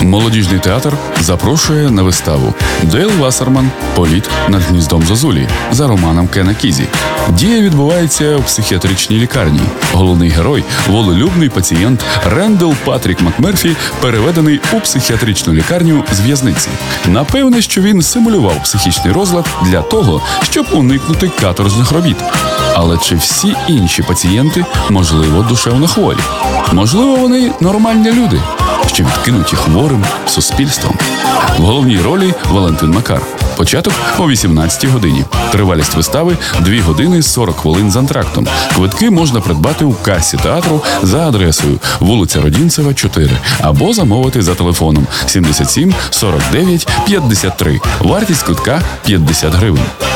Молодіжний театр запрошує на виставу Дейл Вассерман «Політ над гніздом Зозулі» за романом Кена Кізі. Дія відбувається в психіатричній лікарні. Головний герой – волелюбний пацієнт Рендел Патрік МакМерфі, переведений у психіатричну лікарню з в'язниці. Напевне, що він симулював психічний розлад для того, щоб уникнути каторжних робіт. Але чи всі інші пацієнти, можливо, душевно хворі? Можливо, вони нормальні люди, що відкинуті хворим суспільством. В головній ролі Валентин Макар. Початок о 18-й годині. Тривалість вистави – 2 години 40 хвилин з антрактом. Квитки можна придбати у касі театру за адресою вулиця Родінцева, 4 або замовити за телефоном 77 49 53. Вартість квитка – 50 гривень.